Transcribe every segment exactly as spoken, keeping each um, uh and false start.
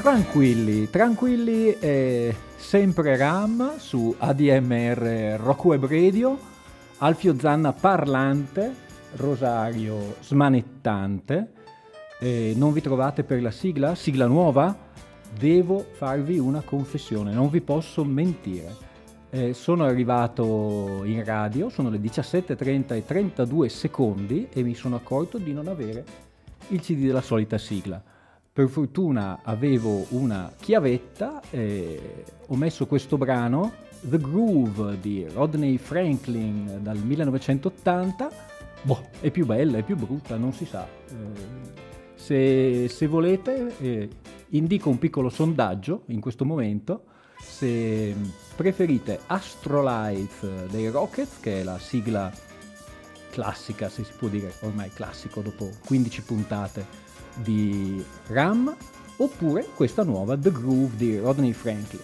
Tranquilli, tranquilli, eh, sempre Ram su A D M R Rock Web Radio, Alfio Zanna parlante, Rosario smanettante. Eh, non vi trovate per la sigla? Sigla nuova? Devo farvi una confessione, non vi posso mentire. Eh, sono arrivato in radio, sono le diciassette e trenta e trentadue secondi e mi sono accorto di non avere il C D della solita sigla. Per fortuna avevo una chiavetta e ho messo questo brano, The Groove di Rodney Franklin dal millenovecentottanta. Boh, è più bella, è più brutta, non si sa. Eh, se, se volete, eh, indico un piccolo sondaggio in questo momento. Se preferite Astrolife dei Rockets, che è la sigla classica, se si può dire ormai classico dopo quindici puntate di Ram, oppure questa nuova The Groove di Rodney Franklin.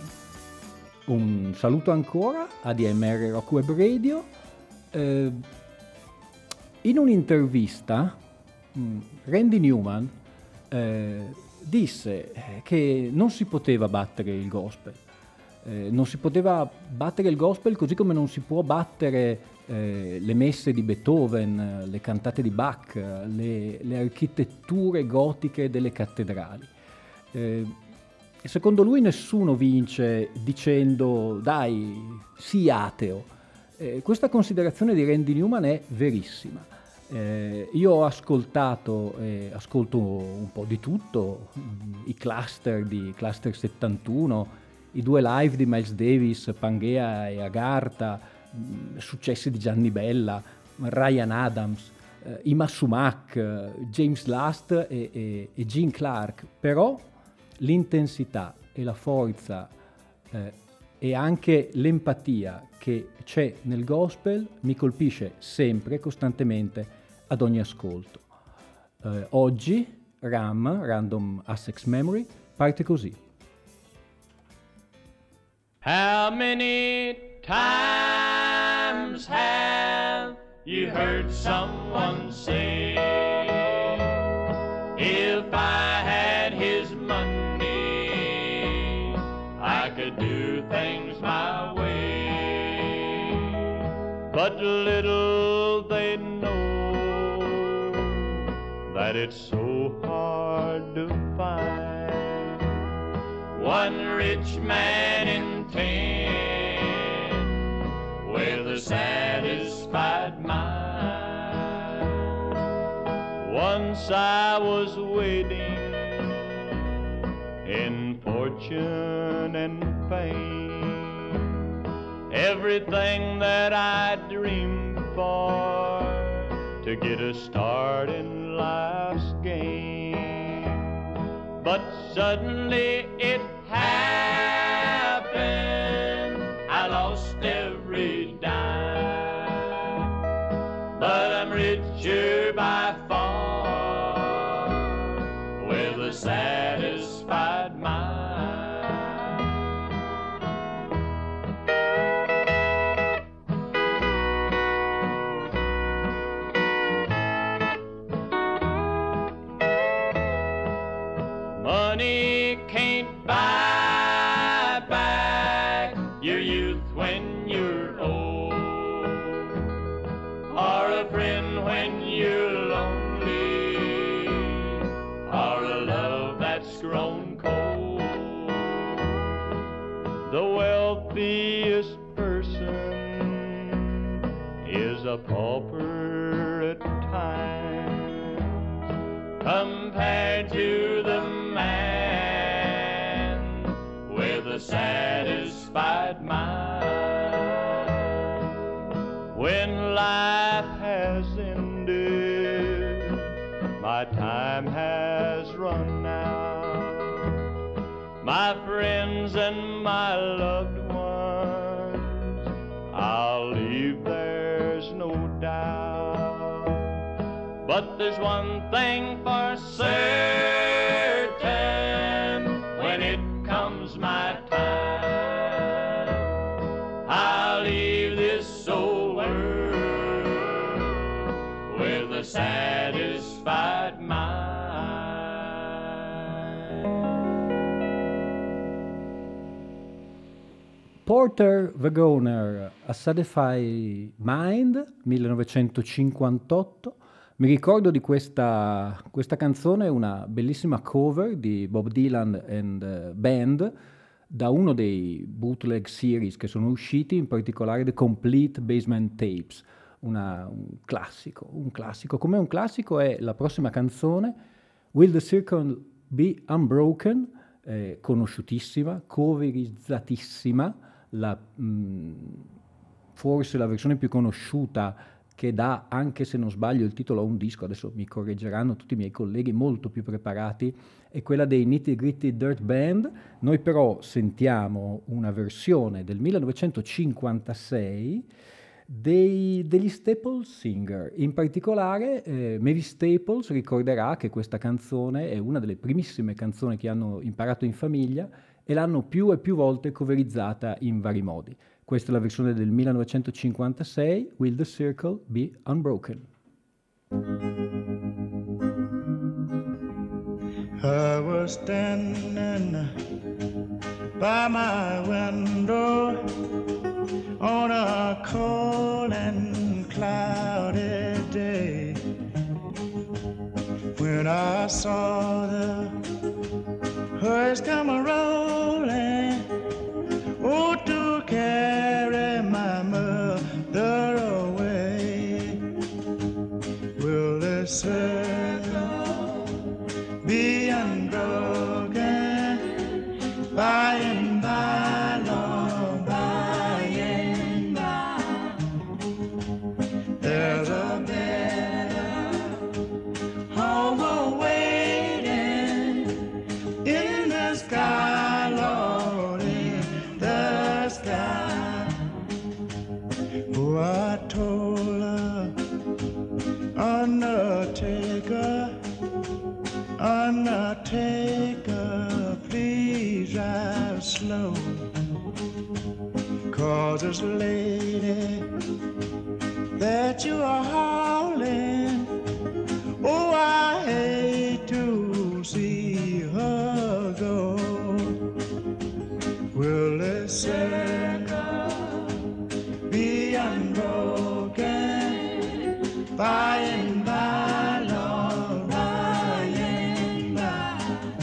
Un saluto ancora a D M R Rock Web Radio. Eh, in un'intervista Randy Newman eh, disse che non si poteva battere il gospel. Eh, non si poteva battere il gospel così come non si può battere eh, le messe di Beethoven, le cantate di Bach, le, le architetture gotiche delle cattedrali. Eh, secondo lui nessuno vince dicendo dai, sii ateo. Eh, questa considerazione di Randy Newman è verissima. Eh, io ho ascoltato, eh, ascolto un po' di tutto, i cluster di Cluster settantuno, i due live di Miles Davis, Pangea e Agartha, mh, successi di Gianni Bella, Ryan Adams, eh, Ima Sumac, eh, James Last e, e, e Gene Clark. Però l'intensità e la forza eh, e anche l'empatia che c'è nel gospel mi colpisce sempre, costantemente, ad ogni ascolto. Eh, oggi Ram, Random Access Memory, parte così. How many times have you heard someone say, if I had his money, I could do things my way. But little they know that it's so hard to find one rich man in ten with a satisfied mind. Once I was waiting in fortune and fame, everything that I dreamed for to get a start in life's game. But suddenly it happened, I lost every dime, but I'm richer by far with a satisfied mind. Money can't buy back your youth when you're old, or a friend when you're lonely, or a love that's grown cold. The wealthiest person is a pauper at times compared to the man with a satisfied mind. When life has ended, my time has run out. My friends and my loved ones I'll leave, there's no doubt. But there's one thing for certain, when it comes my time, I'll leave this old world with a satisfied mind. Porter Wagoner, A Satisfied Mind, millenovecentocinquantotto. Mi ricordo di questa, questa canzone, una bellissima cover di Bob Dylan and Band, da uno dei bootleg series che sono usciti, in particolare The Complete Basement Tapes, una, un classico, un classico. Come un classico è la prossima canzone, Will the Circle Be Unbroken, eh, conosciutissima, coverizzatissima, la, mh, forse la versione più conosciuta che dà, anche se non sbaglio, il titolo a un disco, adesso mi correggeranno tutti i miei colleghi molto più preparati, è quella dei Nitty Gritty Dirt Band. Noi però sentiamo una versione del millenovecentocinquantasei dei, degli Staples Singer. In particolare eh, Mavis Staples ricorderà che questa canzone è una delle primissime canzoni che hanno imparato in famiglia e l'hanno più e più volte coverizzata in vari modi. Questa è la versione del millenovecentocinquantasei, Will the Circle Be Unbroken. I was standing by my window on a cold and cloudy day when I saw the hearse come a-rolling, oh, to carry my mother away. Will the circle be unbroken by and by, Lord, by and by? There's a better home awaiting in the sky, Lord, in the sky. Oh, I told her, Undertaker, Undertaker, please drive slow, 'cause this lady that you are hauling, oh, I hate to see her go. Will the circle be unbroken by and by, Lord, by and by?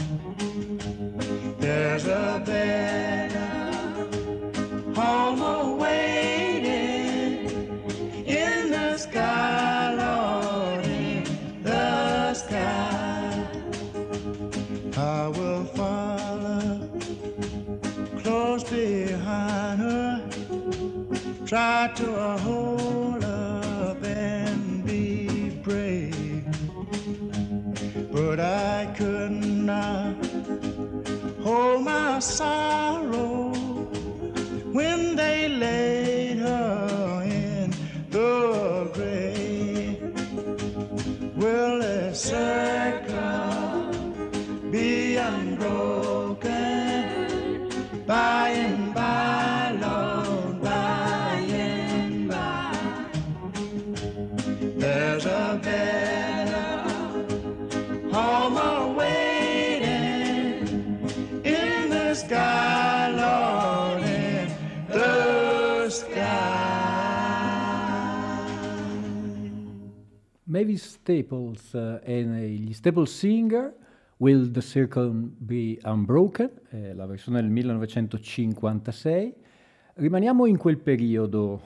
There's a better home awaiting in the sky, Lord, in the sky. I will follow close behind her, try to hold up and be brave, but I could not hold my sorrow when they laid her in the grave. Will the circle be unbroken by and by, Lord, by and by? There's a better home awaiting in the sky, Lord, in the sky. Mavis Staples uh, e gli Staples Singer, Will the Circle Be Unbroken, è la versione del millenovecentocinquantasei. Rimaniamo in quel periodo,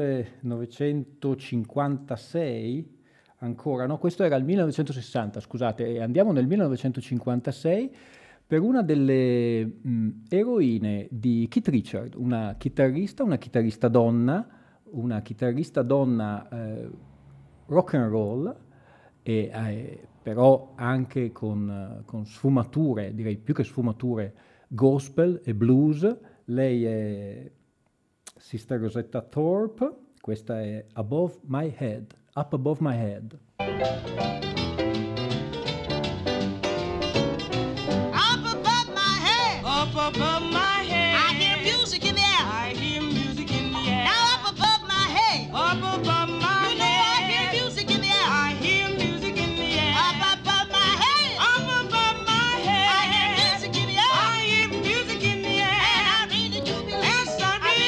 millenovecentocinquantasei ancora, no? Questo era il millenovecentosessanta, scusate, e andiamo nel millenovecentocinquantasei per una delle mh, eroine di Keith Richards, una chitarrista, una chitarrista donna, una chitarrista donna eh, rock and roll, e, eh, però anche con, con sfumature, direi più che sfumature, gospel e blues. Lei è Sister Rosetta Thorpe, questa è Above My Head, Up Above My Head. Up above my head, Up above my head, I hear music in the air. I hear music in the air. Now up above my head, Up above my you know I hear head, music in the air. I hear music in the air. Up above my head, Up above my head, I hear music in the air. I hear music in the air. And I really do believe, Yes, I I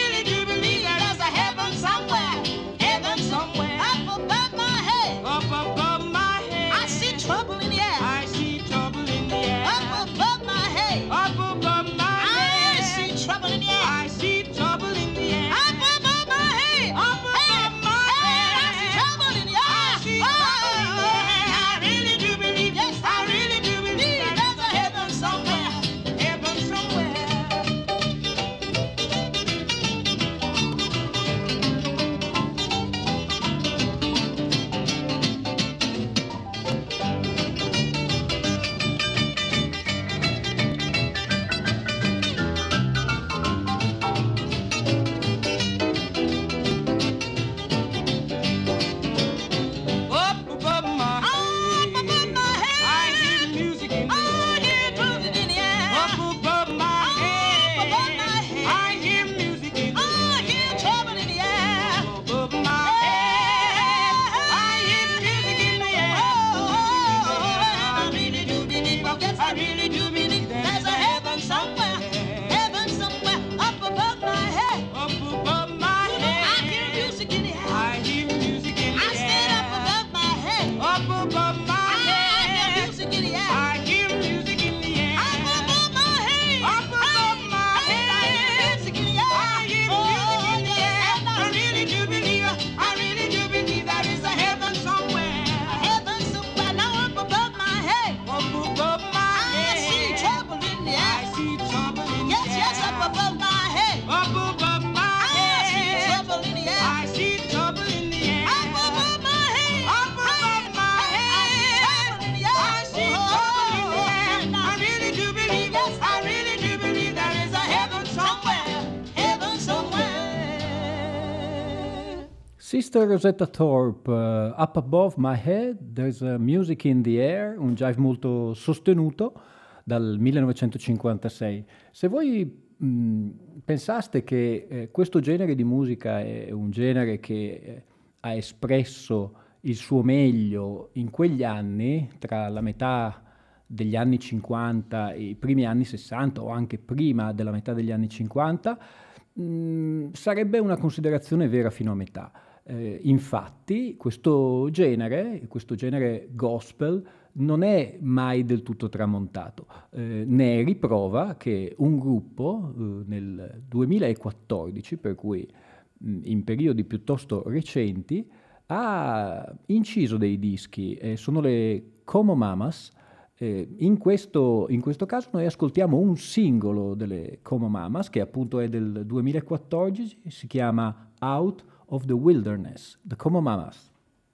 Sister Rosetta Thorpe, uh, Up Above My Head, There's a Music in the Air, un jive molto sostenuto dal millenovecentocinquantasei. Se voi mh, pensaste che eh, questo genere di musica è un genere che eh, ha espresso il suo meglio in quegli anni, tra la metà degli anni cinquanta e i primi anni sessanta o anche prima della metà degli anni cinquanta, mh, sarebbe una considerazione vera fino a metà. Eh, infatti questo genere, questo genere gospel non è mai del tutto tramontato. Eh, ne è riprova che un gruppo eh, nel duemilaquattordici, per cui mh, in periodi piuttosto recenti, ha inciso dei dischi, eh, sono le Como Mamas. Eh, in, questo, in questo caso noi ascoltiamo un singolo delle Como Mamas, che appunto è del duemilaquattordici, si chiama Out of the Wilderness, the Como Mamas.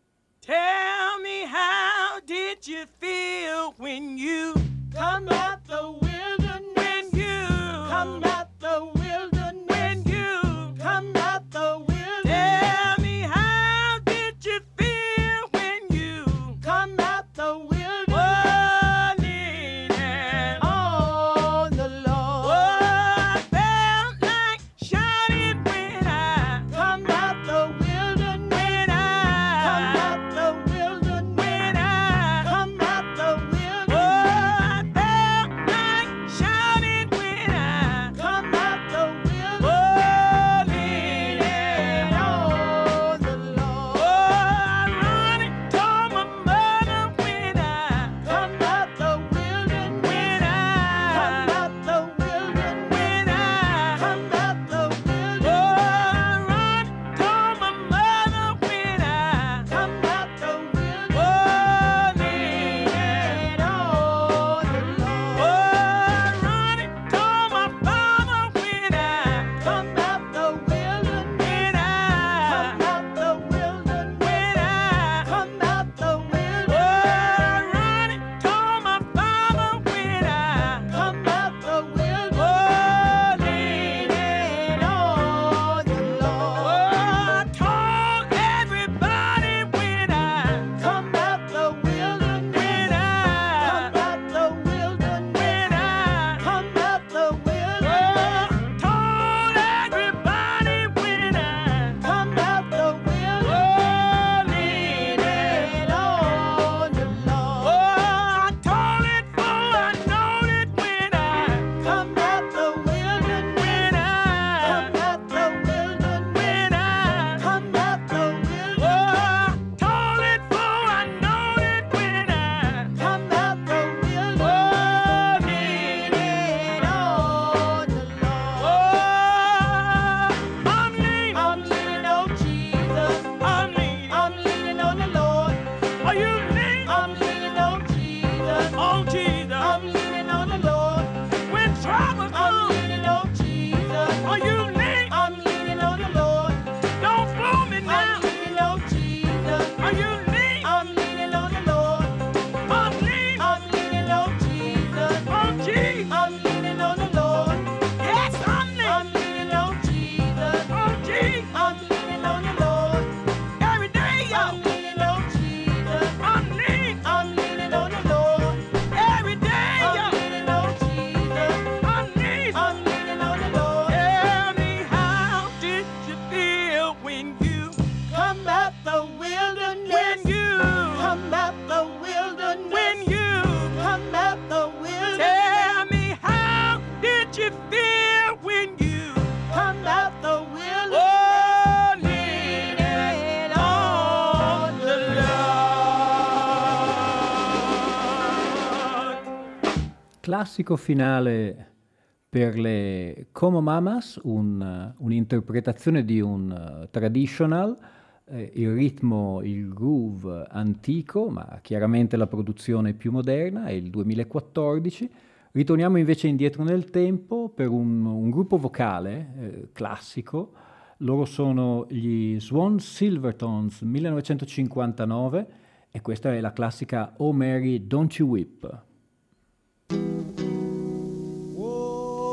Tell me, how did you feel when you come out the wilderness? When you come out the wilderness? When you come out the wilderness? Tell me, how did you feel when you come out the wilderness? Oh, leaning on the Lord. Oh, I felt like shouting when I come out the wilderness. When I come out the wilderness. When I come out the wilderness. Oh, I felt like shouting when I come out the wilderness. Oh, leaning on the Lord. Oh, I run and told my mother when I come out the wilderness. When I come out the wilderness. When I come out the wilderness. Oh, I run and told my mother when I come out the wilderness. Oh, leaning on the Lord. Oh, I run and told my father when I come out the wilderness. When I come out the wilderness. When I come out the wilderness. Oh, I run and told my father when I come out the wilderness. Oh, leaning on the Lord. Oh, I told everybody when I come out the wilderness. When I come out the wilderness. When I come out the wilderness. Oh, told everybody when I come out the wilderness. Oh, leaning on the Lord. Oh, I told it for I know it when I come out the wilderness. When I come out the wilderness. When I come out the wilderness. Oh, I told it for I know it when I come out the wilderness. Oh, leaning on the Lord. Oh, I'm leaning, I'm leaning on Jesus. I'm leaning, I'm leaning on the Lord. Are you leaning? I'm leaning on Jesus. On Jesus. I'm leaning on the Lord. When trouble comes, I'm leaning on Jesus. Are you leaning? I'm leaning on the Lord. Don't fool me now. I'm leaning on Jesus. Are you leaning? I'm leaning on the Lord. I'm leaning. I'm leaning on Jesus. On Jesus. I'm leaning on the Lord. Yes, I'm leaning. I'm leaning on Jesus. On Jesus. I'm leaning on the Lord. Every day, I'm leaning on Jesus. I'm leaning. I'm leaning on the Lord. Every day, I'm leaning on Jesus. I'm leaning. I'm leaning on the Lord. Tell me, how did you feel when you come out the wilderness? When you come out the wilderness. When you come out the wilderness. Tell me, how did you feel when you come out the wilderness? Oh, leaning on the Lord. Classico finale per le Como Mamas, un, un'interpretazione di un uh, traditional, eh, il ritmo, il groove antico, ma chiaramente la produzione più moderna, è il duemilaquattordici. Ritorniamo invece indietro nel tempo per un, un gruppo vocale eh, classico. Loro sono gli Swan Silvertones millenovecentocinquantanove e questa è la classica Oh Mary Don't You Weep.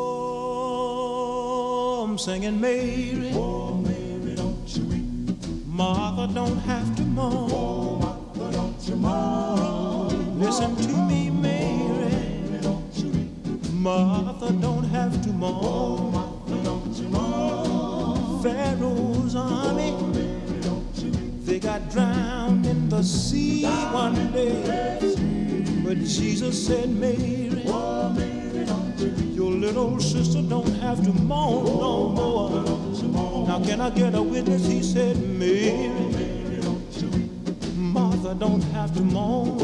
Oh, I'm singing Mary. Oh, Mary, don't you weep. Martha, don't have to mourn. Oh, Martha, don't you mourn. Listen to me, Mary. Don't you weep. Martha, don't have to mourn. Oh, Martha, don't you mourn. Pharaoh's army, don't you weep. They got drowned in the sea one day. But Jesus said, Mary, oh, Mary, don't you weep. Your little sister don't have to mourn no more. Now can I get a witness? He said, Mary, Martha don't have to mourn.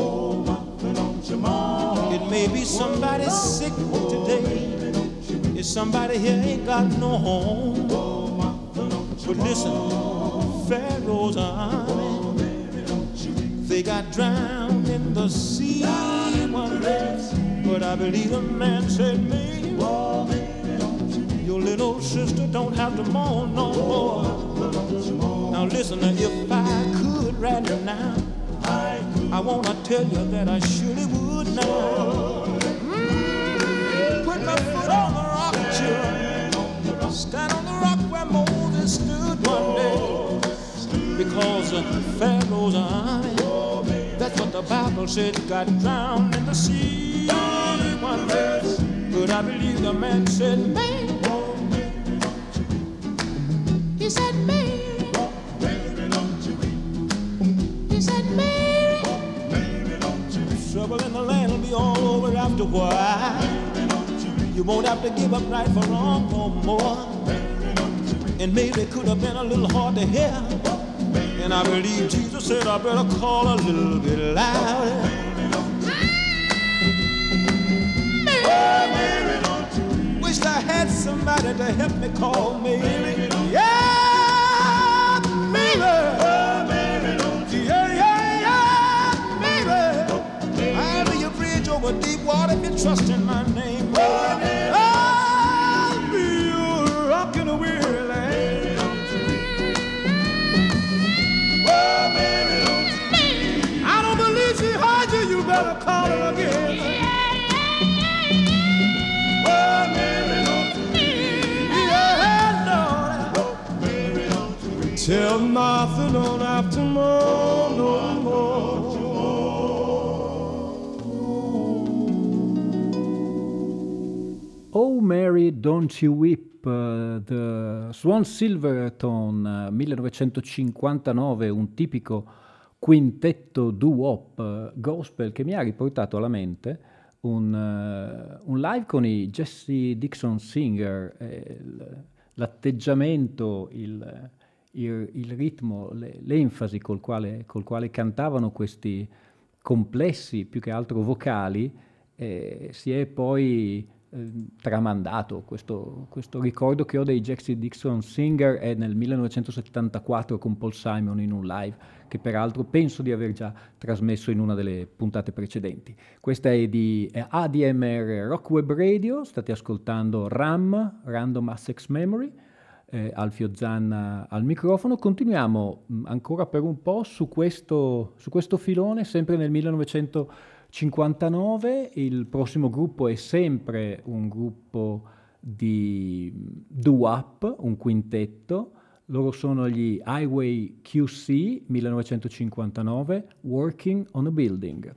It may be somebody sick today. If somebody here ain't got no home. But listen, Pharaoh's army, they got drowned in the sea one day. But I believe the man said, Mary, your little sister don't have to mourn no more. Now listen, if I could right now, I want to tell you that I surely would now. Mm, put my foot on the rock, children. Stand on the rock where Moses stood one day. Because uh, Pharaoh's army, that's what the Bible said, got drowned in the sea one day. But I believe the man said, man, he said, Mary, baby, don't you weep. He said, Mary, baby, don't you weep. Trouble in the land will be all over after a while. Baby, don't you weep. You won't have to give up right for wrong no more. Baby, don't you weep. And maybe it could have been a little hard to hear. Baby, and I believe Jesus said I better call a little bit louder. Baby, don't you weep. Oh, Mary, don't you weep. Wish I had somebody to help me call Mary. Yeah! Oh, baby, don't you? Yeah, yeah, yeah, baby. I'll be your bridge over deep water if you trust in my name. Oh, baby, I'll be your rock in a weary land. Oh, baby, don't you? I don't believe she heard you. You better call her again. Oh, baby, don't you? Yeah, no, baby, don't you? Tell Martha don't have to mourn no more. Oh Mary, Don't You Weep, uh, The Swan Silverton, uh, millenovecentocinquantanove, un tipico quintetto doo-wop uh, gospel che mi ha riportato alla mente un, uh, un live con i Jesse Dixon Singer, eh, l'atteggiamento, il... Il, il ritmo, le, l'enfasi col quale, col quale cantavano questi complessi, più che altro vocali, eh, si è poi eh, tramandato. Questo, questo ricordo che ho dei Jesse Dixon Singer è nel millenovecentosettantaquattro con Paul Simon in un live, che peraltro penso di aver già trasmesso in una delle puntate precedenti. Questa è di eh, A D M R Rock Web Radio, state ascoltando RAM, Random Access Memory, Eh, Alfio Zanna al microfono. Continuiamo mh, ancora per un po' su questo, su questo filone, sempre nel millenovecentocinquantanove. Il prossimo gruppo è sempre un gruppo di doo-wop, un quintetto. Loro sono gli Highway Q C, millenovecentocinquantanove, Working on a Building.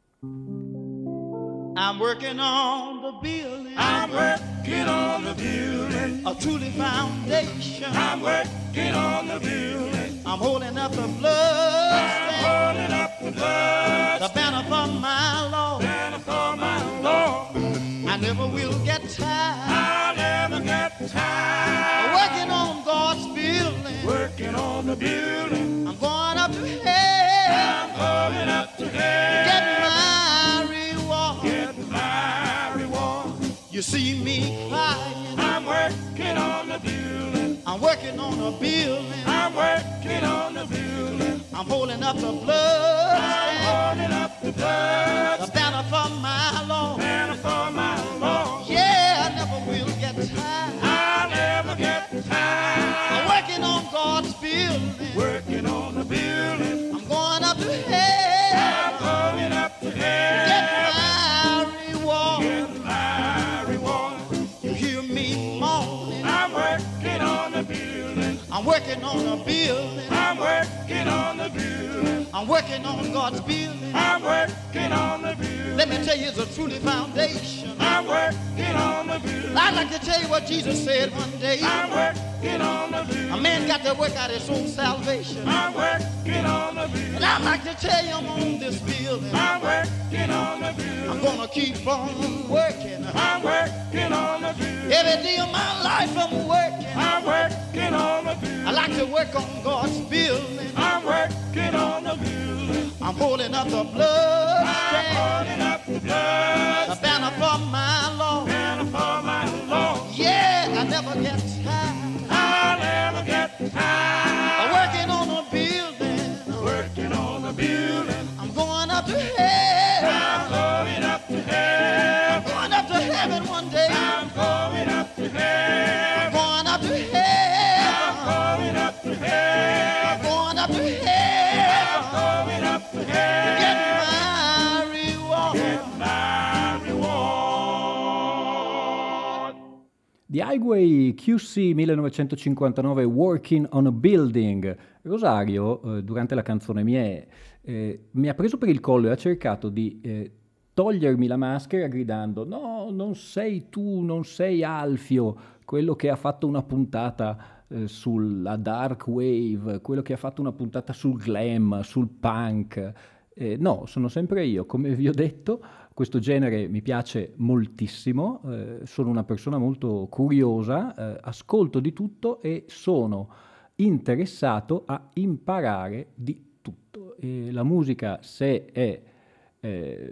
I'm working on the building. I'm working on the building. A truly foundation. I'm working on the building. I'm holding up the blood. I'm holding up the blood. The banner for my Lord. Banner for my Lord. I never will get tired. I'll never get tired. Working on God's building. Working on the building. I'm going up to hell. I'm going up to hell. Get my reward. Get my reward. You see me crying. I'm working on the building. I'm working on a building. I'm working on the building. I'm holding up the blood. I'm holding up the blood. The banner for my Lord. Banner for my Lord. Yeah, I never will get tired. I'll never get tired. I'm working on God's building. Working on the building. I'm going up to hell. I'm going up to hell. Get my reward. Get my reward. You hear me moaning. I'm working on the building. I'm working on a building. I'm working on the building. I'm working on God's building. I'm working on the building. Let me tell you, it's a truly foundation. I'm working on the building. I'd like to tell you what Jesus said one day. I'm working on the building. A man got to work out his own salvation. I'm working on the building. And I'd like to tell you I'm on this building. I'm working on the building. I'm gonna keep on working. I'm working on the building. Every day of my life I'm working. I'm working on the building. I like to work on God's building. I'm working on the building. I'm holding up the blood I'm stand, holding up the blood. a banner for my Lord. Banner for my Lord. Yeah, I never get tired. I'll never get I'm tired. working on a building. Working on the building. I'm going up to heaven. I'm going up to heaven. Going up to heaven one day. I'm going up to I'm heaven. going up to I'm heaven. going up to heaven. I'm going up to I'm heaven. going up to heaven. Get my reward. Get my reward. The Highway Q C millenovecentocinquantanove, Working on a Building. Rosario, eh, durante la canzone mia, eh, mi ha preso per il collo e ha cercato di eh, togliermi la maschera gridando: no, non sei tu, non sei Alfio, quello che ha fatto una puntata eh, sulla dark wave, quello che ha fatto una puntata sul glam, sul punk. Eh, no, sono sempre io, come vi ho detto. Questo genere mi piace moltissimo, eh, sono una persona molto curiosa, eh, ascolto di tutto e sono interessato a imparare di tutto. E la musica, se è eh,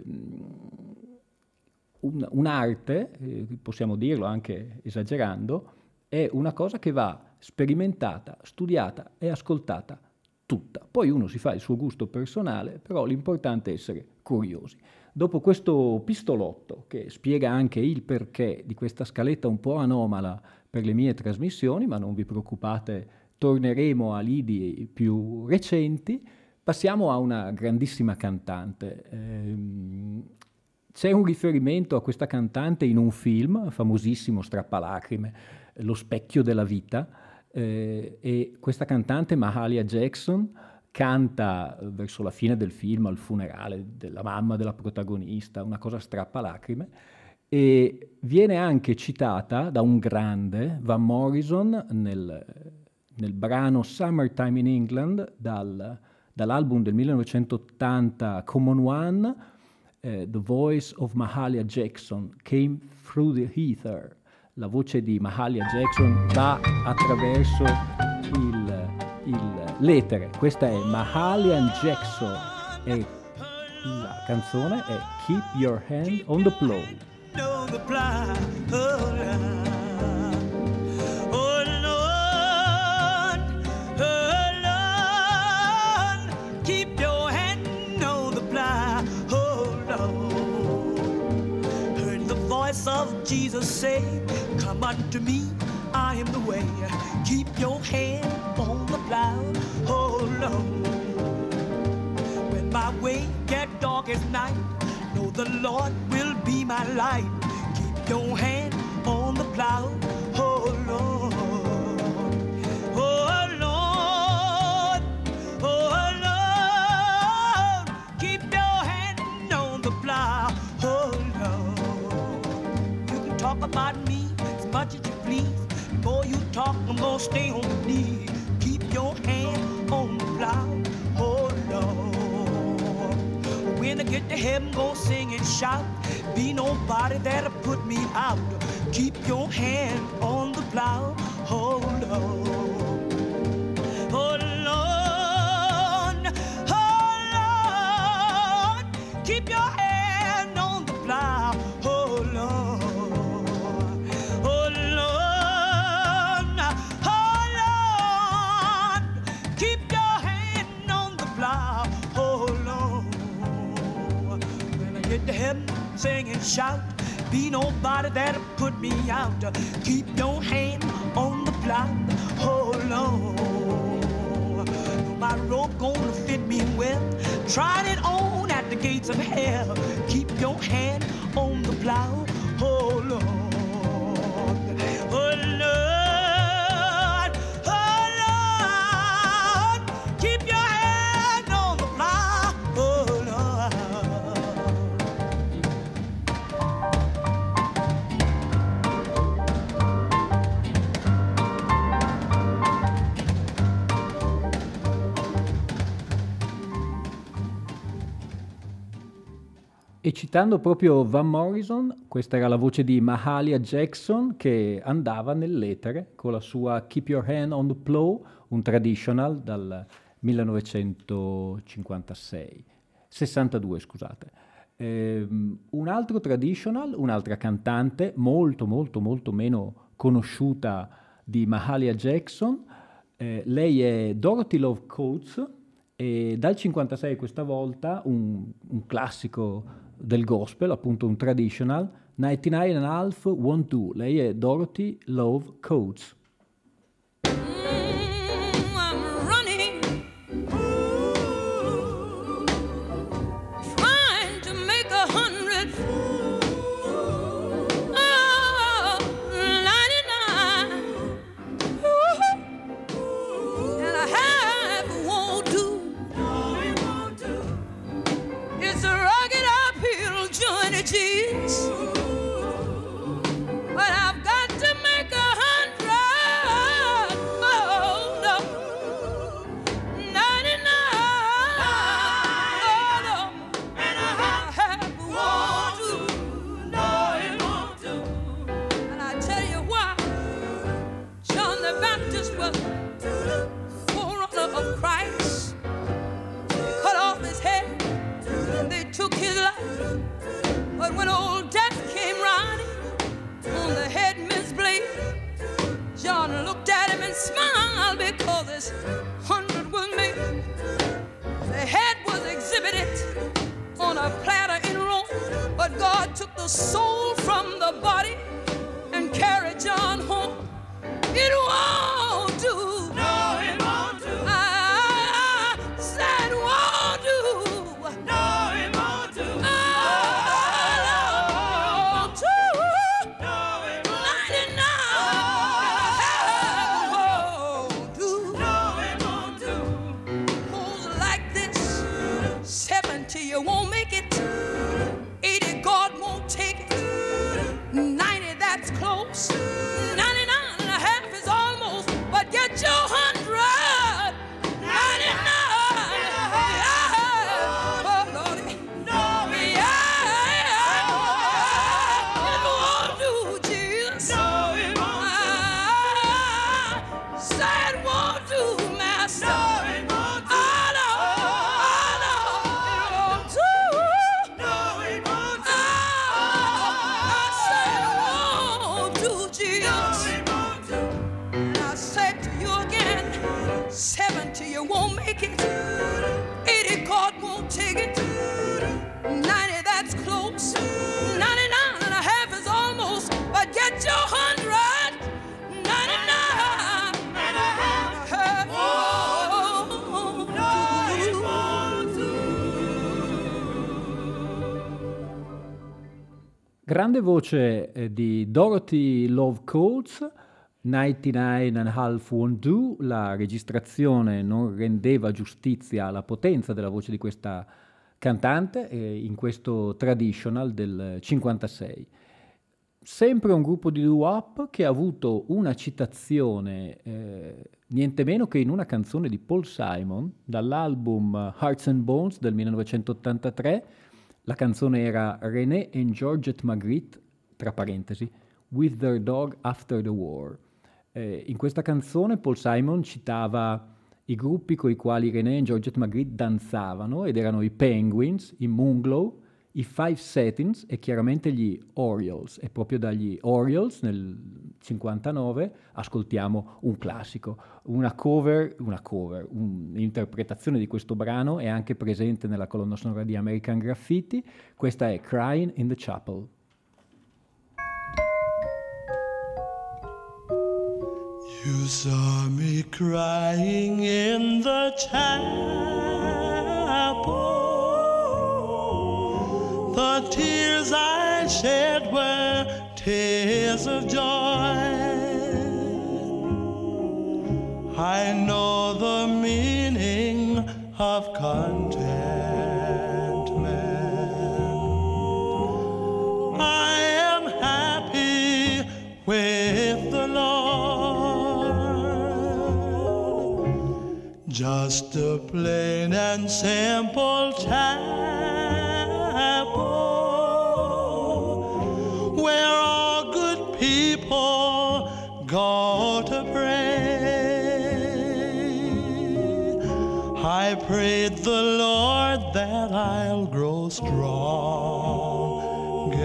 un, un'arte, eh, possiamo dirlo anche esagerando, è una cosa che va sperimentata, studiata e ascoltata tutta. Poi uno si fa il suo gusto personale, però l'importante è essere curiosi. Dopo questo pistolotto, che spiega anche il perché di questa scaletta un po' anomala per le mie trasmissioni, ma non vi preoccupate, torneremo a lidi più recenti, passiamo a una grandissima cantante. Ehm, c'è un riferimento a questa cantante in un film famosissimo, strappalacrime, Lo specchio della vita, eh, e questa cantante, Mahalia Jackson, canta verso la fine del film al funerale della mamma della protagonista, una cosa strappalacrime, e viene anche citata da un grande, Van Morrison, nel, nel brano Summertime in England, dal, dall'album del millenovecentottanta Common One, eh, The Voice of Mahalia Jackson Came Through the Ether. La voce di Mahalia Jackson va attraverso il, il, l'etere. Questa è Mahalia Jackson e la canzone è Keep Your Hand on the Plow. On the plow. Oh, oh, Lord, oh, Lord, keep your hand on the plow. Oh, Lord, heard the voice of Jesus say, come unto me, I am the way. Keep your hand on the plow. Oh, Lord, when my way get dark as night, know the Lord will be my light. Keep your hand on the plow, oh Lord. Oh Lord, oh Lord, keep your hand on the plow, oh Lord. You can talk about me as much as you please. The more you talk, the more stay on my knees. Keep your hand on the plow, oh Lord. When I get to heaven, go sing and shout. Be nobody that'll put me out. Keep your hand on the plow, oh Lord. Oh Lord, oh Lord, keep your hand on the plow, oh Lord. Oh Lord, oh Lord, keep your hand on the plow, oh Lord. Get to heaven, sing and shout. Be nobody that'll put me out. Keep your hand on the plow, oh Lord. My rope gonna fit me well. Tried it on at the gates of hell. Keep your hand on the plow, oh Lord. Oh Lord, oh E citando proprio Van Morrison, questa era la voce di Mahalia Jackson che andava nell'etere con la sua Keep Your Hand on the Plow, un traditional dal millenovecentocinquantasei, sessantadue scusate. Um, un altro traditional, un'altra cantante molto molto molto meno conosciuta di Mahalia Jackson, eh, lei è Dorothy Love Coates e dal cinquantasei questa volta un, un classico del gospel, appunto un traditional, ninety-nine and a half won't do. Lei è Dorothy Love Coates. Soul from the body and carry John home. It won't do. No, it won't do. I said it won't do. No, it won't do. Oh, it won't do. No, it won't do. No, it won't do. Goes like this. seventy, you won't make it. eighty, God won't take it. ninety, that's close. ninety-nine and a half is almost, but get your hundred. ninety-nine. Yeah. Oh, Lordy. No, yeah. It won't do, Jesus. No, it won't do. Say it won't do, Master. No, it won't do. Oh, no. Oh, no. It won't do. No, it won't do. I said it won't do, Jesus. No, it won't do. And I say to you again, seventy, you won't make it. eighty, God won't take it. ninety, that's close. ninety-nine and a half is almost, but get your hundred. ninety-nine and a half won't do. No, it won't do. Grande voce eh, di Dorothy Love Coates, ninety-nine and a half won't do. La registrazione non rendeva giustizia alla potenza della voce di questa cantante eh, in questo traditional del cinquantasei. Sempre un gruppo di doo-wop che ha avuto una citazione eh, niente meno che in una canzone di Paul Simon dall'album Hearts and Bones del millenovecentottantatré. La canzone era René and Georgette Magritte, tra parentesi, With Their Dog After the War. Eh, in questa canzone Paul Simon citava i gruppi con i quali René e Georgette Magritte danzavano ed erano i Penguins, i Moonglow, i Five Seconds e chiaramente gli Orioles. E proprio dagli Orioles nel cinquantanove ascoltiamo un classico, una cover, una cover, un'interpretazione di questo brano è anche presente nella colonna sonora di American Graffiti. Questa è Crying in the Chapel. You saw me crying in the chapel. The tears I shed were tears of joy. I know the meaning of contentment. I am happy with the Lord. just a plain and simple chapel where all good people go to pray. I prayed the Lord that I'll grow stronger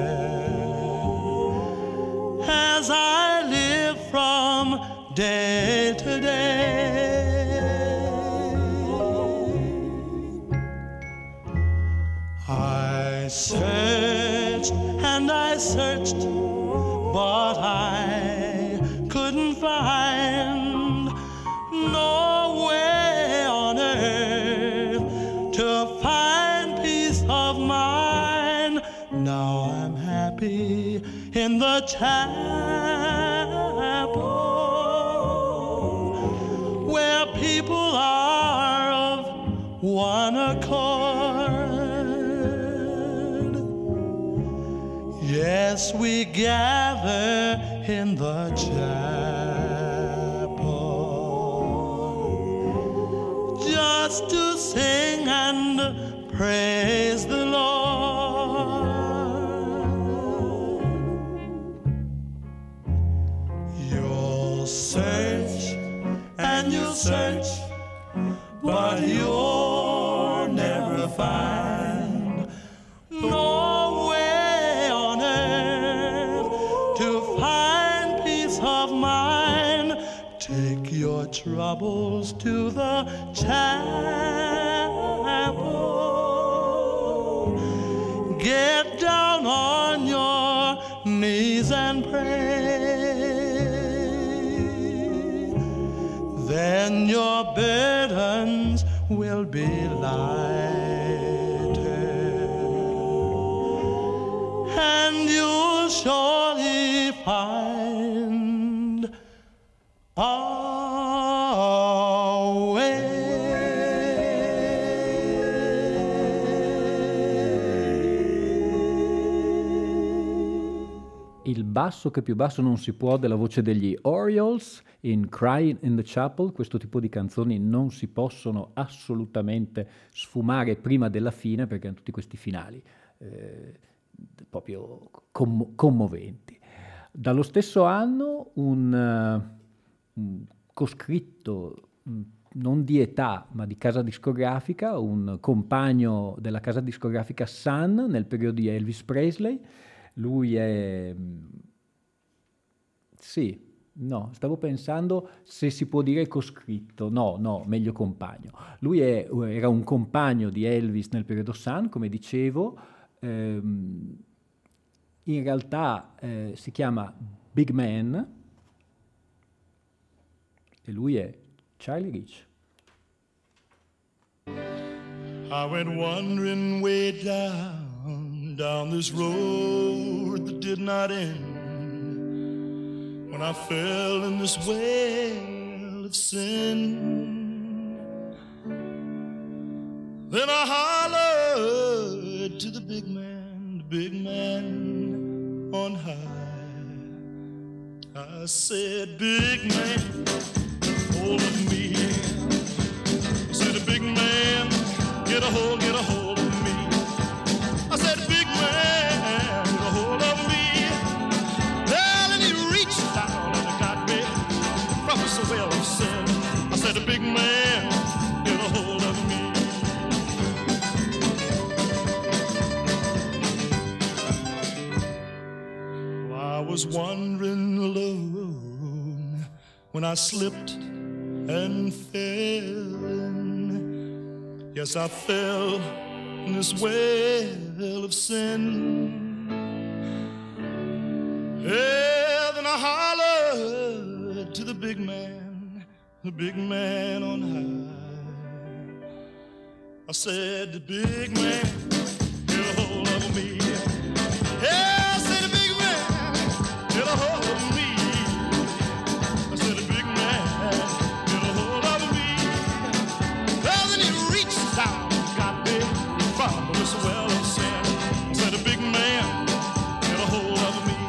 as I live from day to day. I searched and I searched, but I couldn't find no way on earth to find peace of mind. Now I'm happy in the chapel where people are of one accord. Yes, we gather in the chapel just to sing and praise the Lord. You'll search and you'll search, but you'll never find no way on earth to find peace of mind. Take your troubles to the chapel. Get down on your knees and pray. Then your burdens will be lighter, and you'll surely find a way. Il basso che più basso non si può della voce degli Orioles in Crying in the Chapel. Questo tipo di canzoni non si possono assolutamente sfumare prima della fine, perché hanno tutti questi finali eh, proprio commo- commoventi. Dallo stesso anno un, uh, un coscritto um, non di età ma di casa discografica, un compagno della casa discografica Sun nel periodo di Elvis Presley. Lui è... sì, no, stavo pensando se si può dire coscritto. No, no, meglio compagno. Lui è, era un compagno di Elvis nel periodo Sun, come dicevo. Ehm, in realtà eh, si chiama Big Man e lui è Charlie Rich. I went wandering way down, down this road that did not end, when I fell in this well of sin. Then I hollered to the big man, the big man on high. I said, big man, hold of me. I said, big man, get a hold, get a hold of me. I said, big man, get a hold of me. Well, and he reached down and got me from this well of sin. I said, big man, get a hold of me. Well, I was wandering alone when I slipped and fell in. Yes, I fell in this well of sin. Yeah, then I hollered to the big man, the big man on high. I said, the big man, get a hold of me. Yeah, I said, the big man, get a hold of me. I said, the big man, get a hold of me. Well, then he reached down and got me from this well of sin. I said, the big man, get a hold of me.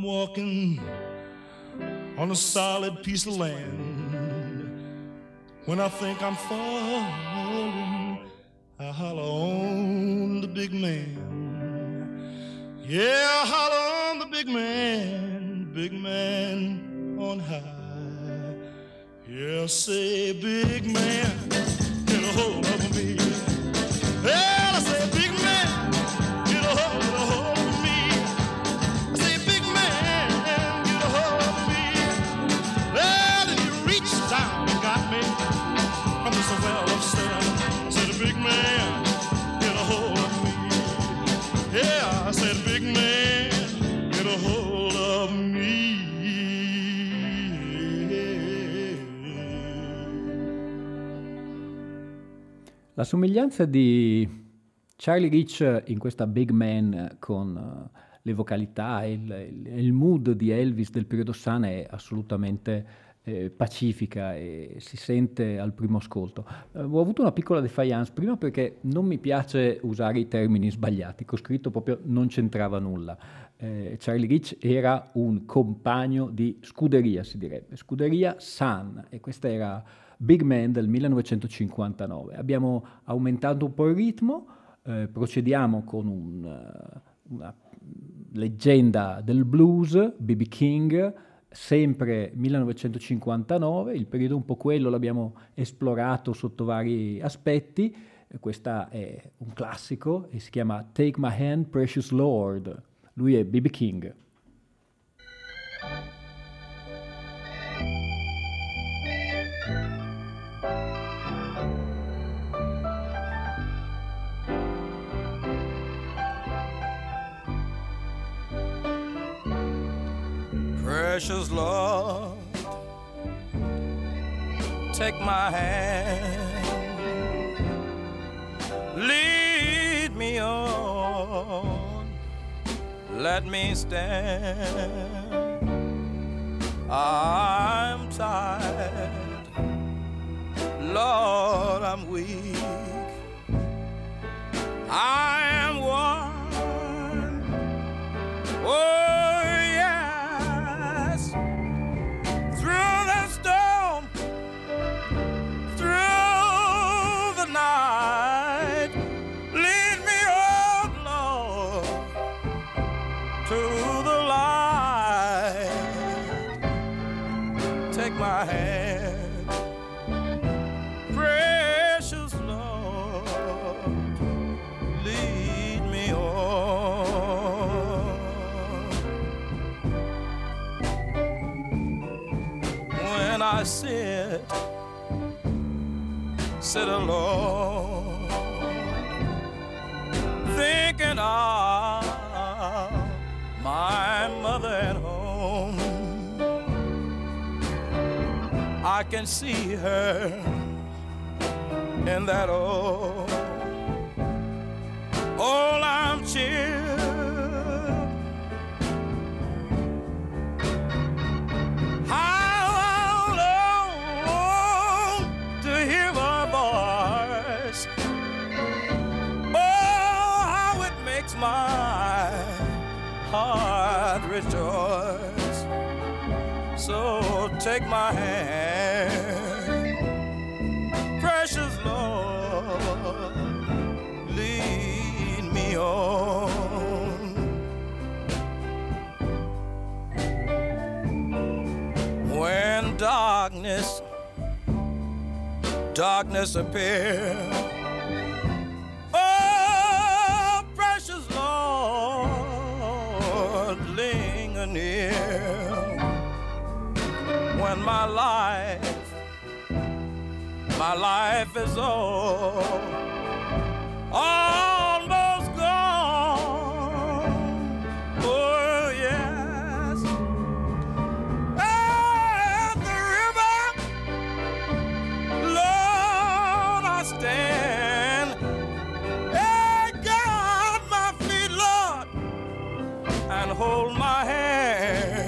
walking on a solid piece of land. When I think I'm falling, I holler on the big man. Yeah, I holler on the big man, big man on high. Yeah, say, big man, get a hold of me. Well, I say, big man, get a hold, get a hold of me. I say, big man, get a hold of me. Well, and you reach down and got me. I'm so well upset. Said, big man, get a hold of me. Yeah, I said, big man, get a hold of me. La somiglianza di Charlie Rich in questa Big Man con uh, le vocalità e il, il, il mood di Elvis del periodo Sun è assolutamente eh, pacifica e si sente al primo ascolto. Uh, ho avuto una piccola defiance prima perché non mi piace usare i termini sbagliati, che ho scritto proprio non c'entrava nulla. Eh, Charlie Rich era un compagno di scuderia, si direbbe, scuderia Sun, e questa era Big Man del millenovecentocinquantanove. Abbiamo aumentato un po' il ritmo, eh, procediamo con un, uh, una leggenda del blues, B B King, sempre millenovecentocinquantanove, il periodo un po' quello l'abbiamo esplorato sotto vari aspetti. Questa è un classico e si chiama Take My Hand, Precious Lord. Lui è B B King. Precious Lord, take my hand, lead me on, let me stand. I'm tired, Lord, I'm weak, I am worn. Oh, my hand, precious Lord, lead me on. When I sit, sit alone, thinking of my mother at home, I can see her in that old, old armchair. How long to hear my voice? Oh, how it makes my heart rejoice. So take my hand, precious Lord, lead me on. When darkness, darkness appears, oh, precious Lord, linger near. When my life, my life is all, almost gone. Oh yes, at the river, Lord, I stand. Hey, God, my feet, Lord, and hold my hand.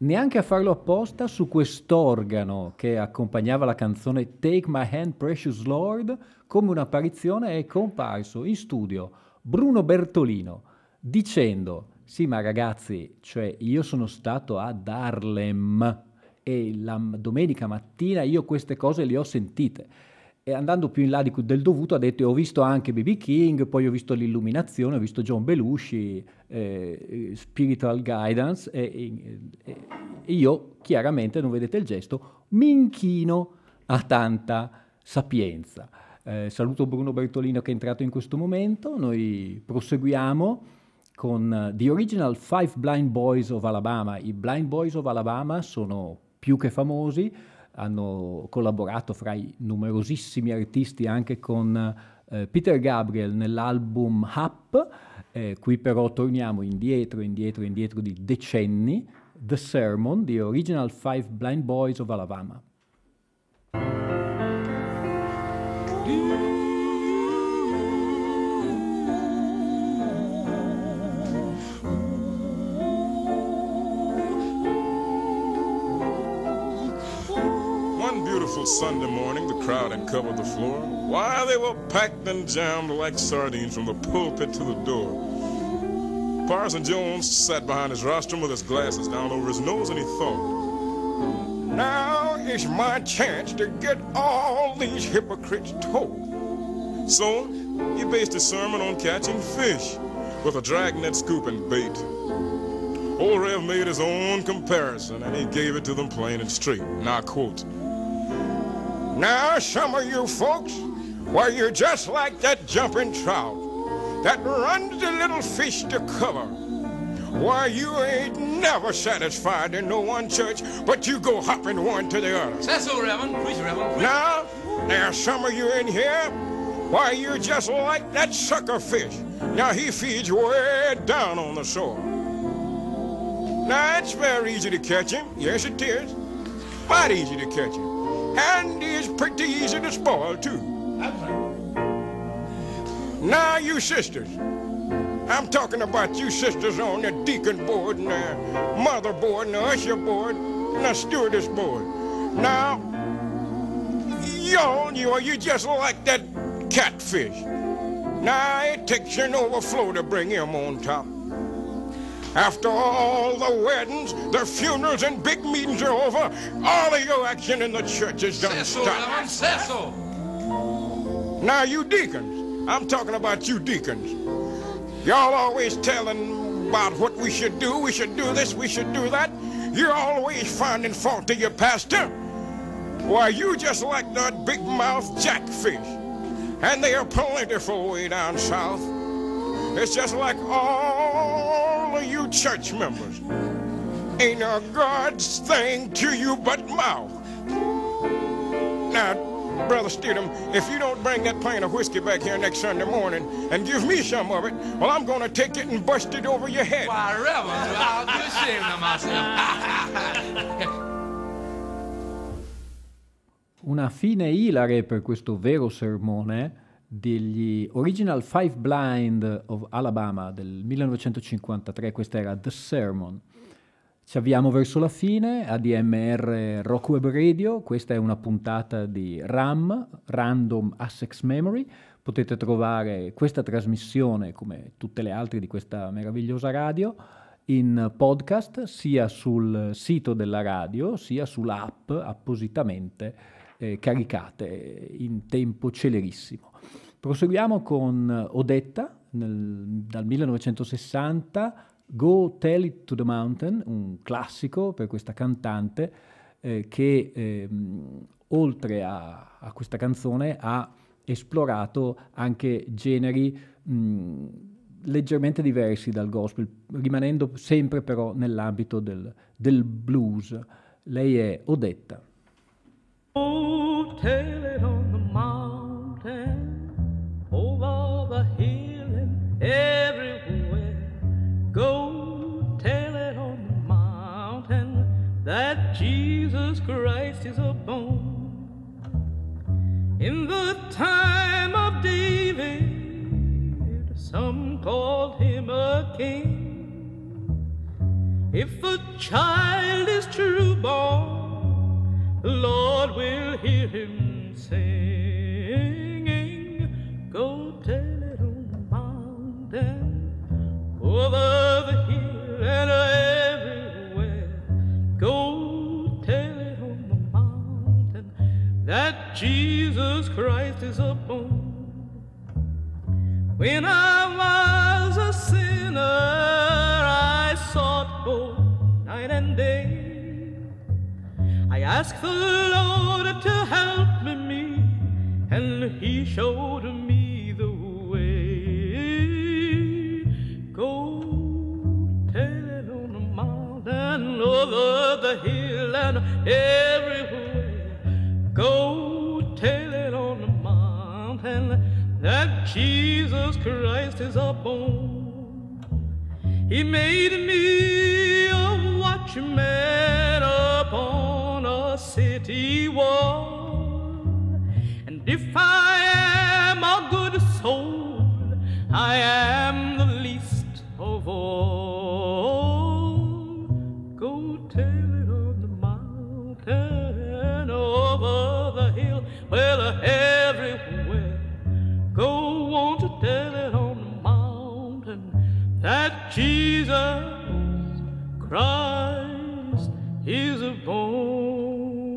neanche a farlo apposta, su quest'organo che accompagnava la canzone Take My Hand Precious Lord, come un'apparizione è comparso in studio Bruno Bertolino dicendo: sì, ma ragazzi, cioè io sono stato ad Harlem e la domenica mattina io queste cose le ho sentite. E andando più in là di, del dovuto ha detto: ho visto anche B B King, poi ho visto l'Illuminazione, ho visto John Belushi, eh, Spiritual Guidance e, e, e io chiaramente, non vedete il gesto, mi inchino a tanta sapienza. Eh, saluto Bruno Bertolino che è entrato in questo momento. Noi proseguiamo con uh, The Original Five Blind Boys of Alabama. I Blind Boys of Alabama sono più che famosi, hanno collaborato fra i numerosissimi artisti anche con eh, Peter Gabriel nell'album Up. Eh, qui però torniamo indietro, indietro, indietro di decenni. The Sermon, The Original Five Blind Boys of Alabama. Beautiful Sunday morning, the crowd had covered the floor. Why, they were packed and jammed like sardines from the pulpit to the door. Parson Jones sat behind his rostrum with his glasses down over his nose, and he thought, now is my chance to get all these hypocrites told. So he based his sermon on catching fish with a dragnet scoop and bait. Old Rev made his own comparison, and he gave it to them plain and straight. Now I quote, now, some of you folks, well, you're just like that jumping trout that runs the little fish to cover. Why, you ain't never satisfied in no one church, but you go hopping one to the other. That's so, Reverend. Preach, Reverend. Preach. Now, there's some of you in here, why, you're just like that sucker fish. Now, he feeds way down on the shore. Now, it's very easy to catch him. Yes, it is. Quite easy to catch him. And he's pretty easy to spoil, too. Now, you sisters, I'm talking about you sisters on the deacon board and the mother board and the usher board and the stewardess board. Now, y'all, you are you just like that catfish. Now, it takes an overflow to bring him on top. After all the weddings, the funerals, and big meetings are over, all of your action in the church is done. Stop. So. Now, you deacons, I'm talking about you deacons. Y'all always telling about what we should do. We should do this, we should do that. You're always finding fault to your pastor. Why, you just like that big-mouthed jackfish. And they are plentiful way down south. It's just like all of you church members. Ain't a God's thing to you but mouth. Now, Brother Stidham, if you don't bring that pint of whiskey back here next Sunday morning and give me some of it, well, I'm going to take it and bust it over your head. Why, Reverend, I'll be ashamed of myself. Una fine ilare per questo vero sermone degli Original Five Blind of Alabama del millenovecentocinquantatré. Questa era The Sermon. Ci avviamo verso la fine. A D M R Rock Web Radio. Questa è una puntata di RAM, Random Access Memory. Potete trovare questa trasmissione, come tutte le altre di questa meravigliosa radio, in podcast sia sul sito della radio sia sull'app appositamente eh, caricate in tempo celerissimo. Proseguiamo con Odetta nel, dal millenovecentosessanta, Go Tell It to the Mountain, un classico per questa cantante eh, che eh, oltre a, a questa canzone ha esplorato anche generi mh, leggermente diversi dal gospel, rimanendo sempre però nell'ambito del, del blues. Lei è Odetta. Oh, tell it on the mountain, over the hill and everywhere. Go tell it on the mountain that Jesus Christ is born. In the time of David, some called him a king. If a child is true born, the Lord will hear him singing. Go tell it on the mountain, over the hill and everywhere. Go tell it on the mountain that Jesus Christ is upon. When I was a sinner, I sought both night and day. I asked the Lord to help me, and He showed me the way. Go tell it on the mountain, over the hill and everywhere. Go tell it on the mountain that Jesus Christ is upon. He made me a watchman upon a city wall. And if I am a good soul, I am the least of all. Go tell it on the mountain, over the hill, well, everywhere. Go on to tell it on the mountain that Jesus Christ is born.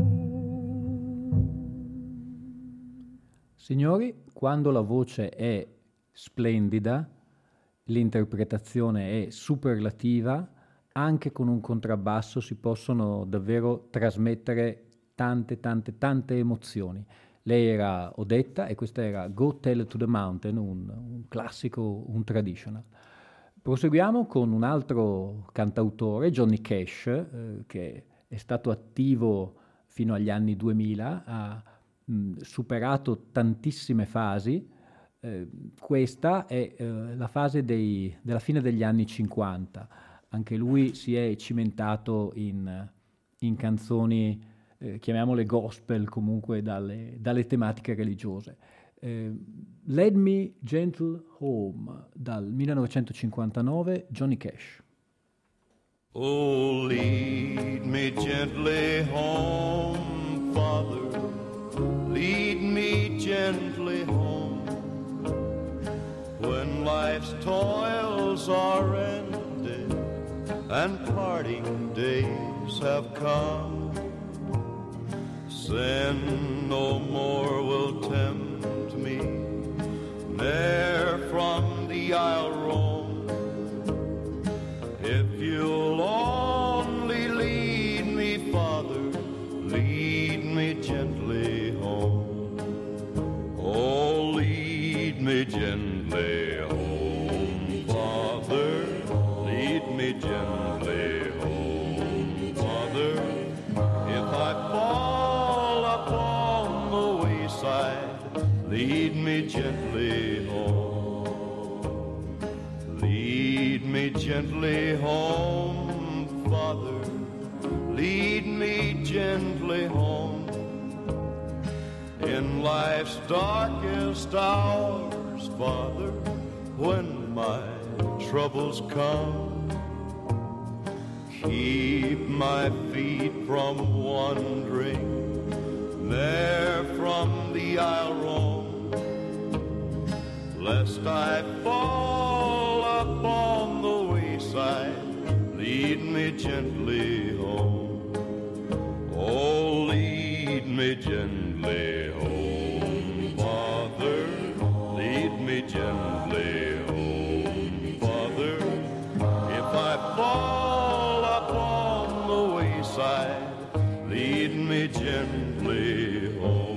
Signori, quando la voce è splendida, l'interpretazione è superlativa, anche con un contrabbasso si possono davvero trasmettere tante, tante, tante emozioni. Lei era Odetta e questa era Go Tell It to the Mountain, un, un classico, un traditional. Proseguiamo con un altro cantautore, Johnny Cash, eh, che è stato attivo fino agli anni duemila, ha mh, superato tantissime fasi. Eh, questa è eh, la fase dei, della fine degli anni cinquanta. Anche lui si è cimentato in, in canzoni, Eh, chiamiamole gospel, comunque dalle, dalle tematiche religiose. Eh, Lead Me Gentle Home, dal millenovecentocinquantanove, Johnny Cash. Oh, lead me gently home, Father, lead me gently home, when life's toils are ended and parting days have come. Sin no more will tempt me, ne'er from thee I'll roam. If you'll only lead me, Father, lead me gently home. Oh, lead me gently home, Father, lead me gently home, Father. If I fall lead me gently home. Lead me gently home, Father. Lead me gently home. In life's darkest hours, Father, when my troubles come, keep my feet from wandering, there from thee I'll roam, lest I fall upon the wayside. Lead me gently home. Oh, lead me gently home, Father. Lead me gently home, Father. If I fall upon the wayside, lead me gently home.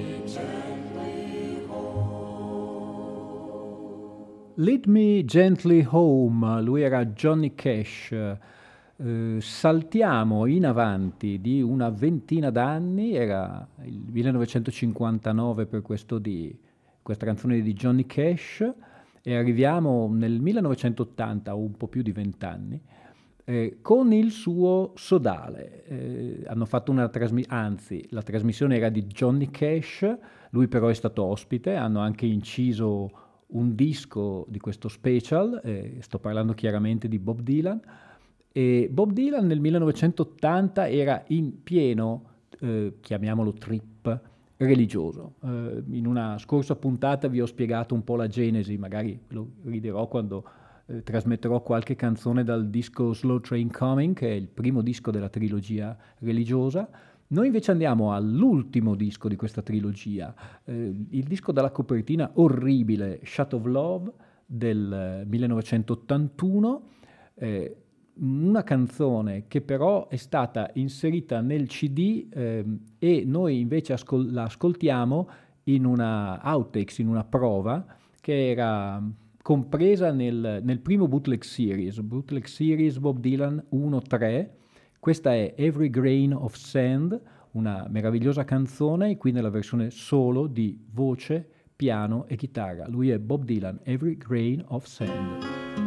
Lead Me Gently Home, lui era Johnny Cash. Eh, saltiamo in avanti di una ventina d'anni, era il millenovecentocinquantanove per questo di, questa canzone di Johnny Cash, e arriviamo nel millenovecentottanta, un po' più di vent'anni, eh, con il suo Sodale. Eh, hanno fatto una trasmissione, anzi la trasmissione era di Johnny Cash, lui però è stato ospite, hanno anche inciso un disco di questo special, eh, sto parlando chiaramente di Bob Dylan, E Bob Dylan nel millenovecentottanta era in pieno, eh, chiamiamolo trip, religioso. Eh, in una scorsa puntata vi ho spiegato un po' la genesi, magari lo riderò quando eh, trasmetterò qualche canzone dal disco Slow Train Coming, che è il primo disco della trilogia religiosa. Noi invece andiamo all'ultimo disco di questa trilogia, eh, il disco dalla copertina orribile, Shot of Love del millenovecentottantuno, eh, una canzone che però è stata inserita nel C D eh, e noi invece ascol- la ascoltiamo in una outtakes, in una prova che era compresa nel, nel primo bootleg series, bootleg series Bob Dylan uno tre. Questa è Every Grain of Sand, una meravigliosa canzone, qui nella versione solo di voce, piano e chitarra. Lui è Bob Dylan, Every Grain of Sand.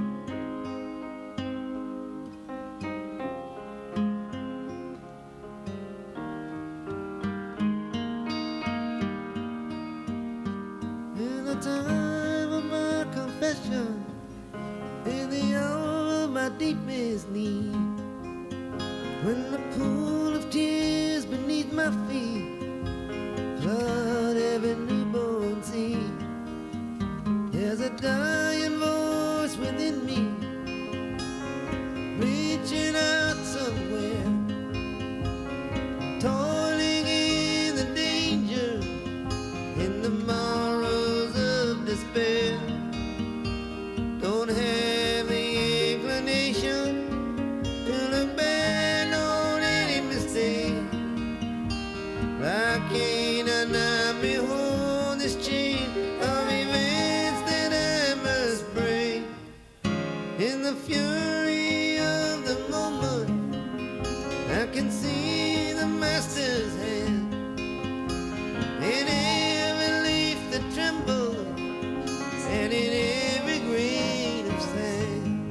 In the time of my confession, in the hour of my deepest need, when the pool of tears beneath my feet flood every newborn seed, there's a dying voice within me, reaching out somewhere, toiling in the danger, in the morrows of despair. Don't have the inclination to look back on any mistake. I can't deny behold this chain of events that I must break. In the fury of the moment, I can see the master's hand. In every leaf that trembles, and in every grain of sand,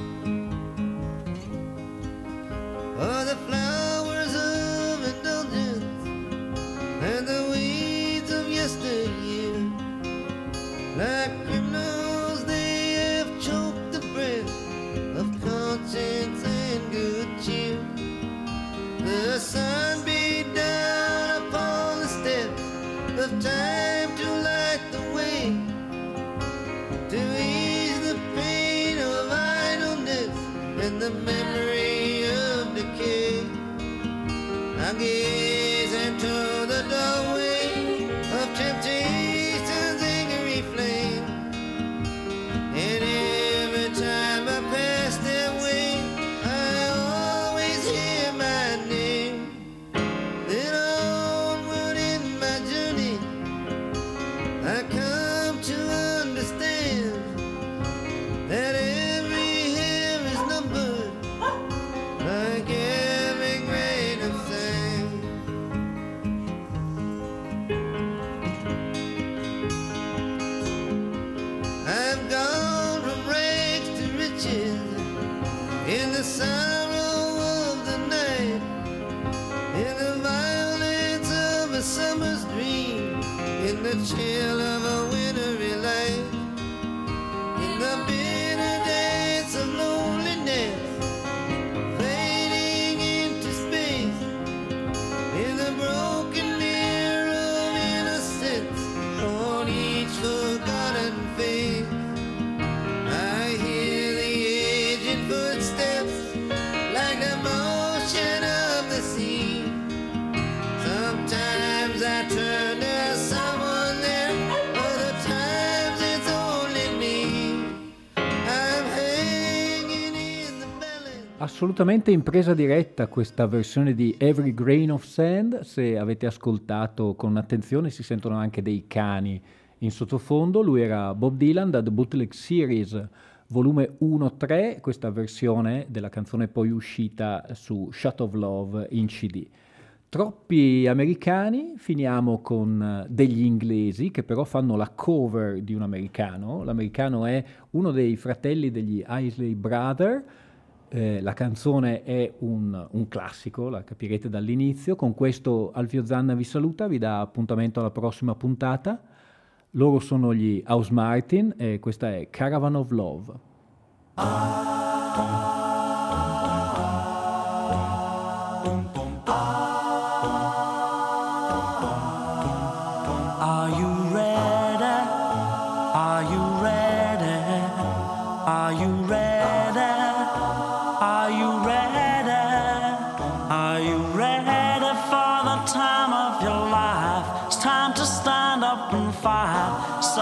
are the flowers of indulgence and the weeds of yesteryear. Like criminals, they have choked the breath of conscience and good cheer. The sun beat down upon the steps of time to light the way, to ease the pain of idleness and the memory of decay. I gaze into the doorway of temptation's angry flame, and every time I pass that way, I always hear my name. Then onward in my journey, I come to understand that every hair is numbered, like every grain of sand. I've gone from rags to riches in the sorrow of the night, in the violence of a summer's dream, in the chill of a wintry light, in the bitter dance of loneliness, fading into space, in the broken mirror of innocence on each forgotten face. I hear the aged footsteps like the motion of the sea. Sometimes I turn to someone there, other times it's only me. I'm hanging in the balance. Assolutamente in presa diretta questa versione di Every Grain of Sand. Se avete ascoltato con attenzione si sentono anche dei cani in sottofondo. Lui era Bob Dylan da The Bootleg Series volume uno tre, questa versione della canzone poi uscita su Shot of Love in C D. Troppi americani, finiamo con degli inglesi che però fanno la cover di un americano. L'americano è uno dei fratelli degli Isley Brothers. Eh, la canzone è un, un classico, la capirete dall'inizio. Con questo Alfio Zanna vi saluta, vi dà appuntamento alla prossima puntata. Loro sono gli House Martin e questa è Caravan of Love. Ah.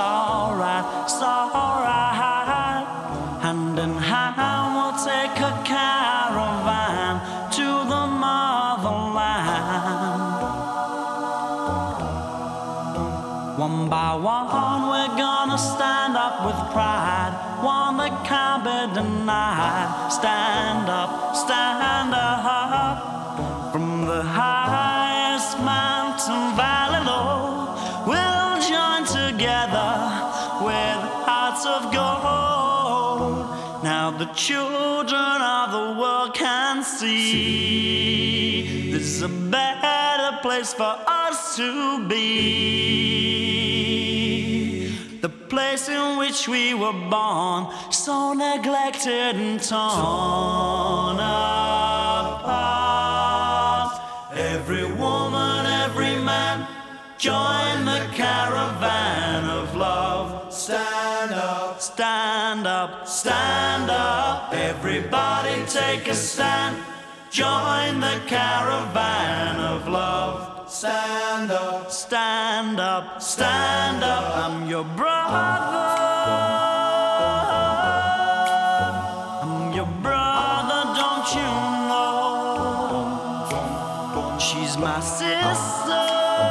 alright, it's alright. Hand in hand we'll take a caravan to the motherland. One by one we're gonna stand up with pride, one that can't be denied. Stand up, stand up. From the highest mountain valley low, we'll join together with hearts of gold. Now the children of the world can see this is a better place for us to be. The place in which we were born, so neglected and torn apart. Every woman, every man, join the caravan of love. Stand up, stand up, stand up. Everybody take a stand. Join the caravan of love. Stand up, stand up, stand up. I'm your brother. I'm your brother, don't you know? She's my sister.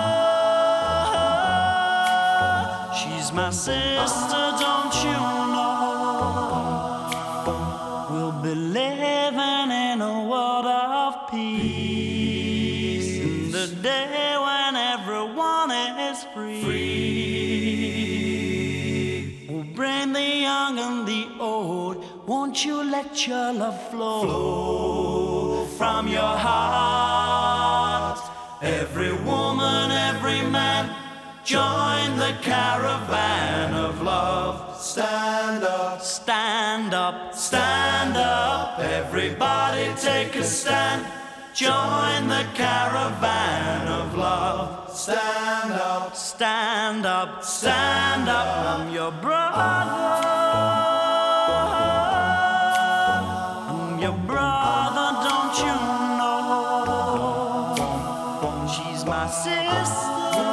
She's my sister, don't you know? We'll be living in a world of peace in the day when everyone is free. free. We'll bring the young and the old. Won't you let your love flow, flow from your heart? Every woman, every man, join the caravan of love. Stand up, stand up, stand up. Everybody take a stand. Join the caravan of love. Stand up, stand up, stand up. I'm your brother. I'm your brother, don't you know? She's my sister.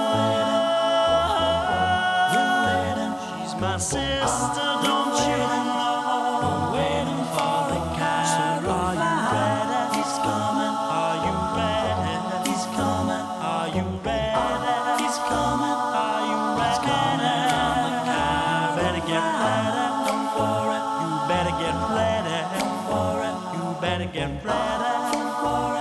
She's my sister, don't you know? Waiting for the caravan. Are you ready? He's coming. Are you ready? He's coming. Are you ready? He's coming. Are you ready? Better get ready. Don't worry. You better get ready. Don't worry. You better get ready. Don't worry.